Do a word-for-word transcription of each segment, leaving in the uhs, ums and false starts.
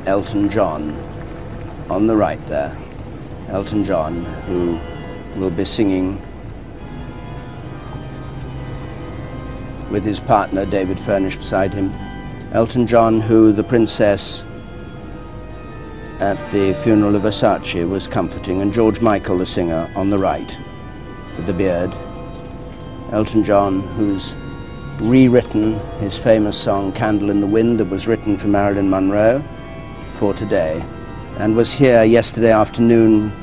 Elton John on the right there. Elton John, who will be singing with his partner David Furnish beside him. Elton John, who the princess at the funeral of Versace was comforting, and George Michael, the singer, on the right with the beard. Elton John, who's rewritten his famous song Candle in the Wind, that was written for Marilyn Monroe, for today, and was here yesterday afternoon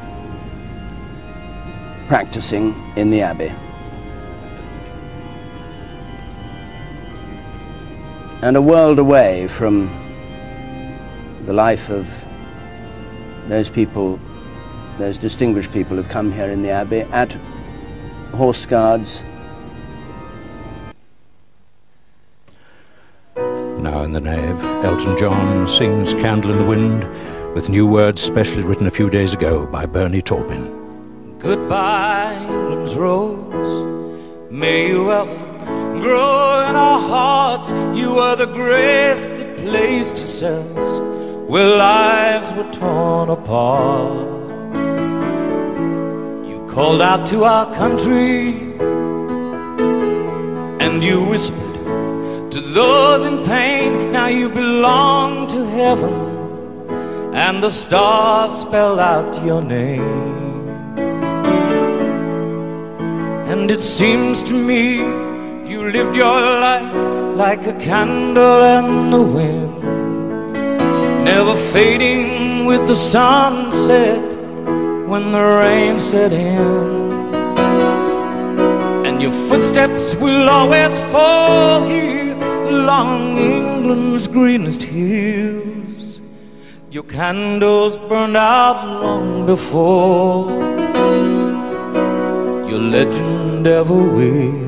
practicing in the Abbey. And a world away from the life of those people, those distinguished people who've come here in the Abbey, at Horse Guards. Now in the nave, Elton John sings Candle in the Wind with new words specially written a few days ago by Bernie Taupin. Goodbye, England's rose, may you ever grow in our hearts. You are the grace that placed yourselves where lives were torn apart. You called out to our country and you whispered to those in pain, now you belong to heaven, and the stars spell out your name. And it seems to me you lived your life like a candle in the wind, never fading with the sunset when the rain set in. And your footsteps will always fall here along England's greenest hills. Your candles burned out long before your legend ever will.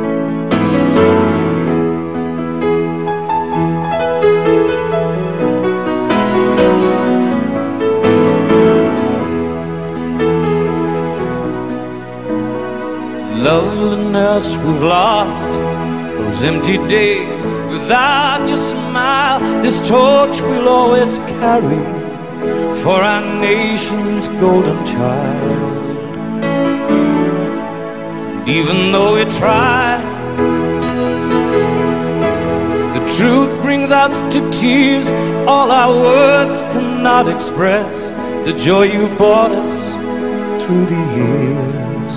Loveliness we've lost, those empty days without your smile. This torch we'll always carry for our nation's golden child. Even though we try, the truth brings us to tears. All our words cannot express the joy you've brought us through the years.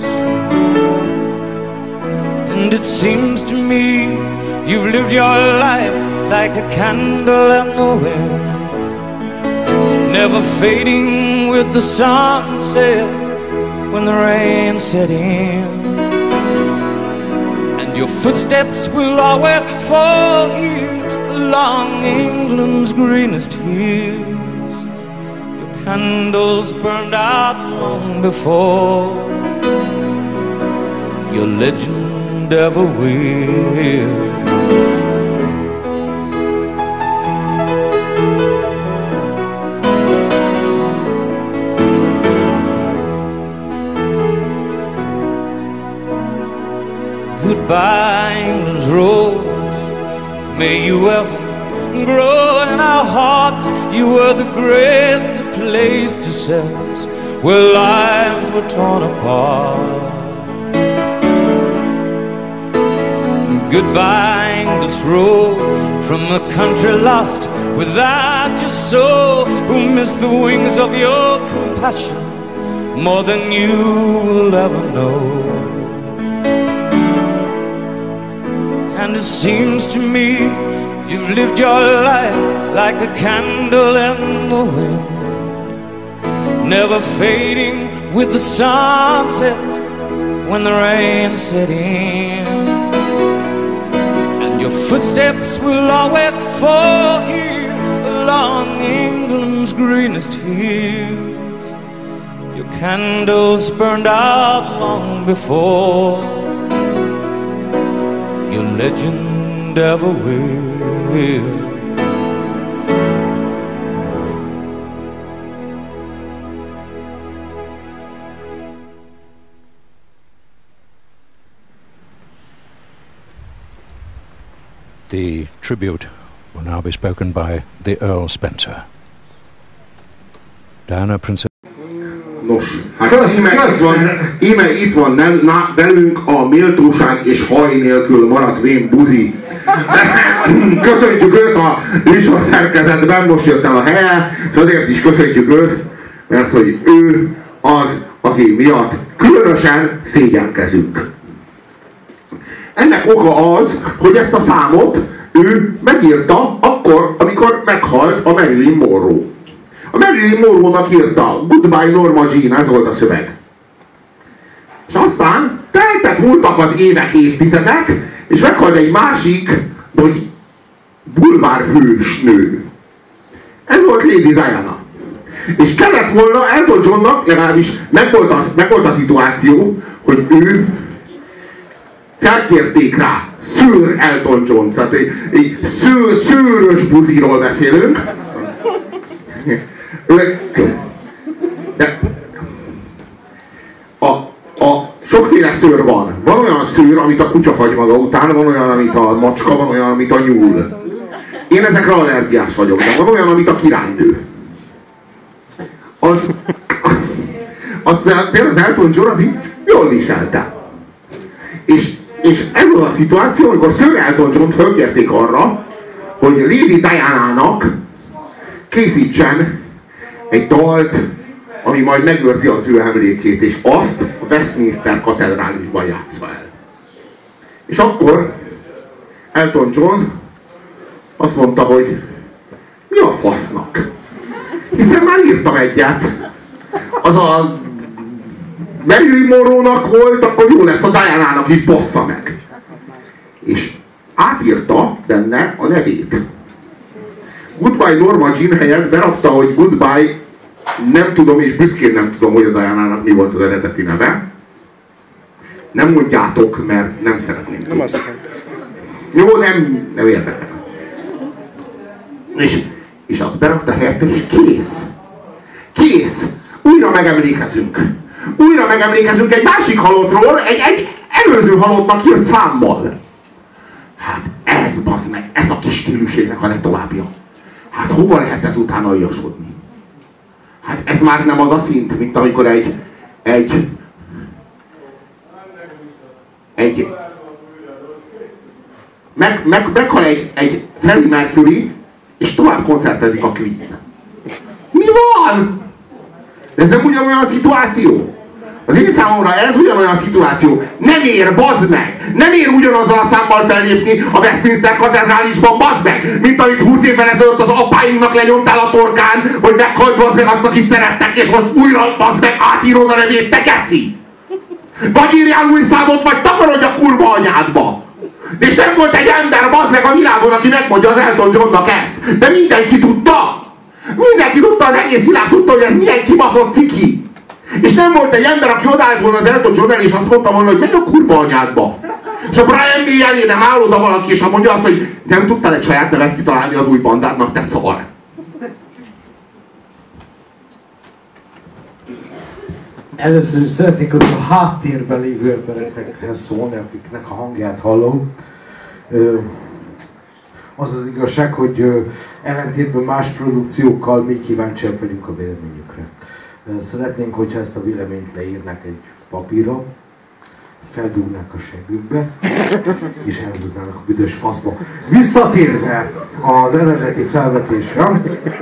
And it seems to me you've lived your life like a candle in the wind, never fading with the sunset when the rain set in. And your footsteps will always fall here along England's greenest hills. Your candles burned out long before your legend ever will. Goodbye, England's rose, may you ever grow in our hearts. You were the grace that placed yourselves where lives were torn apart. Goodbye, English road, from a country lost without your soul, who missed the wings of your compassion more than you will ever know. And it seems to me you've lived your life like a candle in the wind, never fading with the sunset when the rain set in. Your footsteps will always fall here along England's greenest hills. Your candles burned out long before your legend ever will. The tribute will now be spoken by the Earl Spencer. Diana, Princess. Nos, hát íme itt van, íme itt van nem, na, velünk a méltóság és haj nélkül maradt vén buzi. Köszöntjük őt a műsor szerkezetben, most jött el a helye, és azért is köszöntjük őt, mert hogy ő az, aki miatt különösen szégyenkezünk. Ennek oka az, hogy ezt a számot ő megírta akkor, amikor meghalt a Marilyn Monroe. A Marilyn Monroe-nak írta, Goodbye Norma Jean, ez volt a szöveg. És aztán teltek, múltak az évek, évtizedek, és meghalt egy másik, hogy bulvárhős nő. Ez volt Lady Diana. És kellett volna Elton Johnnak, legalábbis megvolt a, megvolt a szituáció, hogy ő felkérték rá Sir Elton John, tehát egy, egy sző, szőrös buziról beszélünk. De a, a sokféle szőr van. Van olyan szőr, amit a kutya hagy maga után, van olyan, amit a macska, van olyan, amit a nyúl. Én ezekre allergiás vagyok, de van olyan, amit a királynő. Az, az például az Elton John az így jól viselte. És, és ez az a szituáció, amikor Sir Elton John fölkérték arra, hogy Lady Diana-nak készítsen egy dalt, ami majd megőrzi az ő emlékét, és azt a Westminster katedrálisban játszva el. És akkor Elton John azt mondta, hogy mi a fasznak? Hiszen már írtam egyet. Az a Marilyn Monroe-nak volt, akkor jó lesz a Diana-nak is, bassza meg. És átírta benne a nevét. Goodbye Norma Jean helyett berakta, hogy Goodbye, nem tudom, és büszkén nem tudom, hogy a Diana-nak mi volt az eredeti neve. Nem mondjátok, mert nem szeretném. Nem azt Jó, nem, nem érdekel. És, és azt berakta helyette, és kész. Kész. Újra megemlékezünk. Újra megemlékezünk egy másik halottról, egy, egy előző halottnak írt számmal. Hát ez, bazd meg, ez a kis stílusének a legtovábbja. Hát hova lehet ez utána aljasodni? Hát ez már nem az a szint, mint amikor egy egy egy meg, meg, meghal egy, egy Freddie Mercury, és tovább koncertezik a Queen. Mi van? Ez nem ugyanolyan a szituáció? Az én számomra ez ugyanolyan szituáció. Nem ér, bazd meg! Nem ér ugyanazzal a számmal fellépni a Westminster katedrálisban, bazd meg! Mint amit húsz évvel ezelőtt az apáinknak lenyomtál a torkán, hogy meghalt, bazd meg azt, akit szerettek, és most újra, bazd meg, átírod a nevét, te geci! Vagy írjál új számot, vagy takarodj a kurva anyádba! És nem volt egy ember, bazd meg, a világon, aki megmondja az Elton Johnnak ezt! De mindenki tudta! Mindenki tudta, az egész világ tudta, hogy ez milyen kibaszott ciki! És nem volt egy ember, aki odállt volna az Elton John és azt mondta volna, hogy menj a kurva anyádba. És a Brian May elé nem áll oda valaki, és mondja azt, hogy nem tudtál egy saját nevet kitalálni az új bandádnak, te szar. Először is szeretnék, hogy a háttérben lévő emberekhez szólni, akiknek a hangját hallom. Az az igazság, hogy ellentétben más produkciókkal mi kíváncsiak vagyunk a véleményükre. Szeretnénk, hogyha ezt a véleményt leírnák egy papírra, feldúrnák a segükbe, és elhúznának a büdös faszba. Visszatérve az eredeti felvetésre,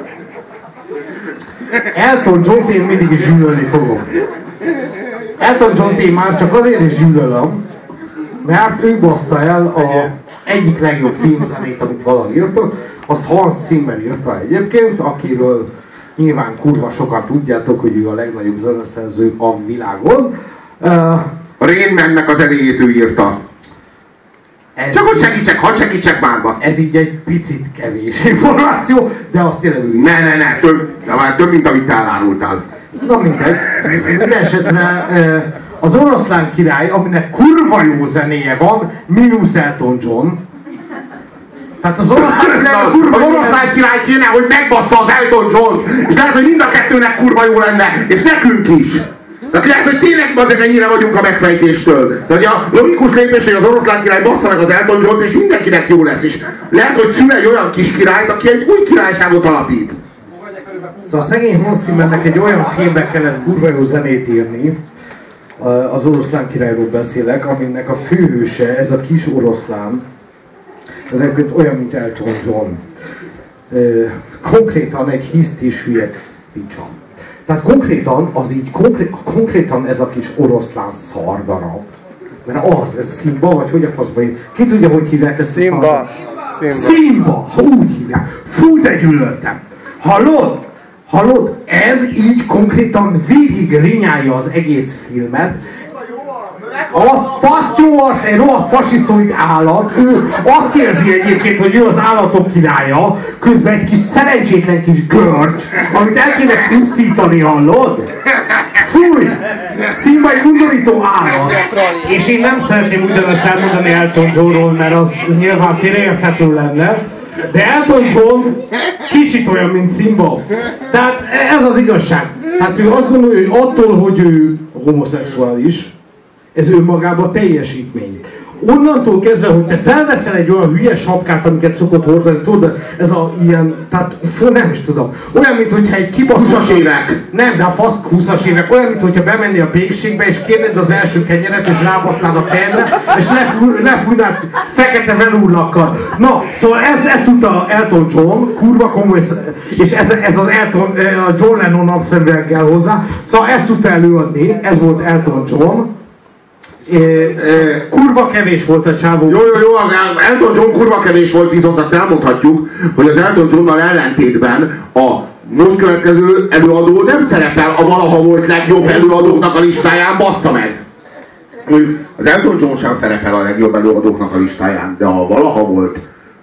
Elton John-t én mindig is gyűlölni fogom. Elton John-t én már csak azért is gyűlölöm, mert ő baszta el a egyik legjobb filmzenét, amit valaha írta, az Hans Zimmer írta egyébként, akiről nyilván kurva sokan tudjátok, hogy ő a legnagyobb zeneszerző a világon. Uh, a Rain Man-nek az zenéjét ő írta. Csak hogy segítsek, hadd segítsek már, basz. Ez így egy picit kevés információ, de azt tényleg ő. Ne, ne, ne, több, de már több, mint amit te elárultál. Na mindegy. Minden esetre az Oroszlán király, aminek kurva jó zenéje van, mínusz Elton John. Tehát az oroszlán király, kurva az oroszlán király kéne, hogy megbassza az Elton John-t, és lehet, hogy mind a kettőnek kurva jó lenne, és nekünk is. Tehát lehet, hogy tényleg azért ennyire vagyunk a megfejtéstől. Tehát a logikus lépés, hogy az oroszlán király bassza meg az Elton John-t, és mindenkinek jó lesz. És lehet, hogy szül egy olyan kis királyt, aki egy új királyságot alapít. Szóval a szegény Hans Zimmernek egy olyan filmbe kellett kurva jó zenét írni, az Oroszlán királyról beszélek, aminek a főhőse, ez a kis oroszlán, ez egyébként olyan, mint Elton John. Konkrétan egy hiszt és hülye picsa. Tehát konkrétan, az így, konkré, konkrétan ez a kis oroszlán szardarab. Mert az, ez Szimba, vagy hogy a faszban, ki tudja, hogy hívják ezt? Szimba. Szimba, ha úgy hívják. Fú, de gyűlöltem. Hallod? Hallod? Ez így konkrétan végig rinyálja az egész filmet. A fasztyóat, egy rohadt fasisztoid állat, ő azt érzi egyébként, hogy ő az állatok királya, közben egy kis szerencsétlen kis görcs, amit el kéne pusztítani, hallod? Fúj! Szimba egy undorító állat. És én nem szeretném ugyanazt elmondani Elton Johnról, mert az nyilván félreérthető lenne. De Elton John kicsit olyan, mint Szimba. Tehát ez az igazság. Tehát ő azt gondolja, hogy attól, hogy ő homoszexuális, ez önmagában teljesítmény. Onnantól kezdve, hogy te felveszel egy olyan hülye sapkát, amiket szokott hordani, tudod, ez a ilyen, tehát nem is tudom, olyan, mintha egy kibaszott... húszas évek! Nem, de a fasz húszas évek, olyan, mintha bemennél a pékségbe, és kérnéd az első kenyeret, és rábasznád a fejedre, és lefújnád fekete velúrlakkal. Na, szóval ez, ez tudta Elton John, kurva komoly, és ez, ez az Elton, a John Lennon napszerűen kell hozzá, szóval ezt tudta előadni, ez volt Elton John. É, é, kurva kevés volt a csávó. Jó, jó, jó, Elton John kurva kevés volt, viszont azt elmondhatjuk, hogy az Elton Johnnal ellentétben a most következő előadó nem szerepel a valaha volt legjobb előadóknak a listáján, bassza meg! Az Elton John sem szerepel a legjobb előadóknak a listáján, de a valaha volt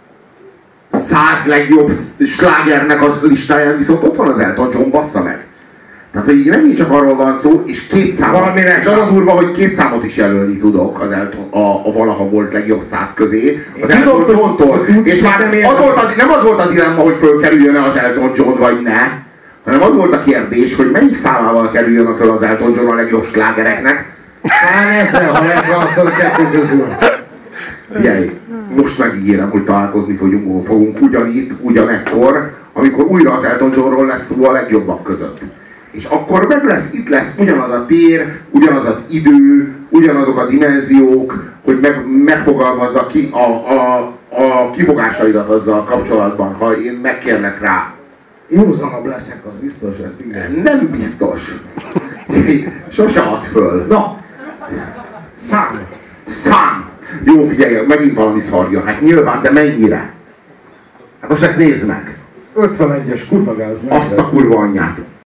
száz legjobb slágernek a listáján, viszont ott van az Elton John, bassza meg! Tehát így nem így csak arról van szó, és két számot. És az a durva, hogy két számot is jelölni tudok az Elton, a, a valaha volt legjobb száz közé, az Elton John-tól. És már az volt a, nem az volt a dilemma, hogy fölkerüljön az Elton John vagy ne, hanem az volt a kérdés, hogy melyik számával kerüljön föl az Elton John a legjobb slágereknek. Talán ezzel, ha megválasztod a kettő közül. Figyelj, most megígérem, hogy találkozni fogunk, fogunk ugyanitt, ugyanekkor, amikor újra az Elton Johnról lesz szó a legjobbak között. És akkor meg lesz, itt lesz ugyanaz a tér, ugyanaz az idő, ugyanazok a dimenziók, hogy meg, megfogalmazd a, ki, a, a, a kifogásaidat azzal kapcsolatban, ha én megkérlek rá. Józanabb leszek, az biztos, ezt igen. Nem biztos. Sose add föl. Na, szám. Szám. Jó, figyelj, megint valami szarja. Hát nyilván, de mennyire? Hát most ezt nézd meg. ötvenegyes kurva gáz. Azt a kurva anyját.